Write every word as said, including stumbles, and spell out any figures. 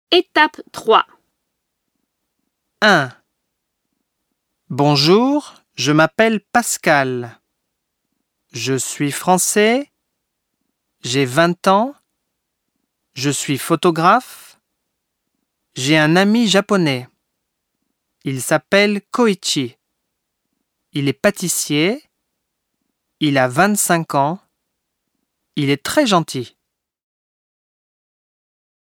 Étape trois. un. Bonjour, je m'appelle Pascal. Je suis français. J'ai vingt ans. Je suis photographe. J'ai un ami japonais. Il s'appelle Koichi. Il est pâtissier. Il a vingt-cinq ans. Il est très gentil.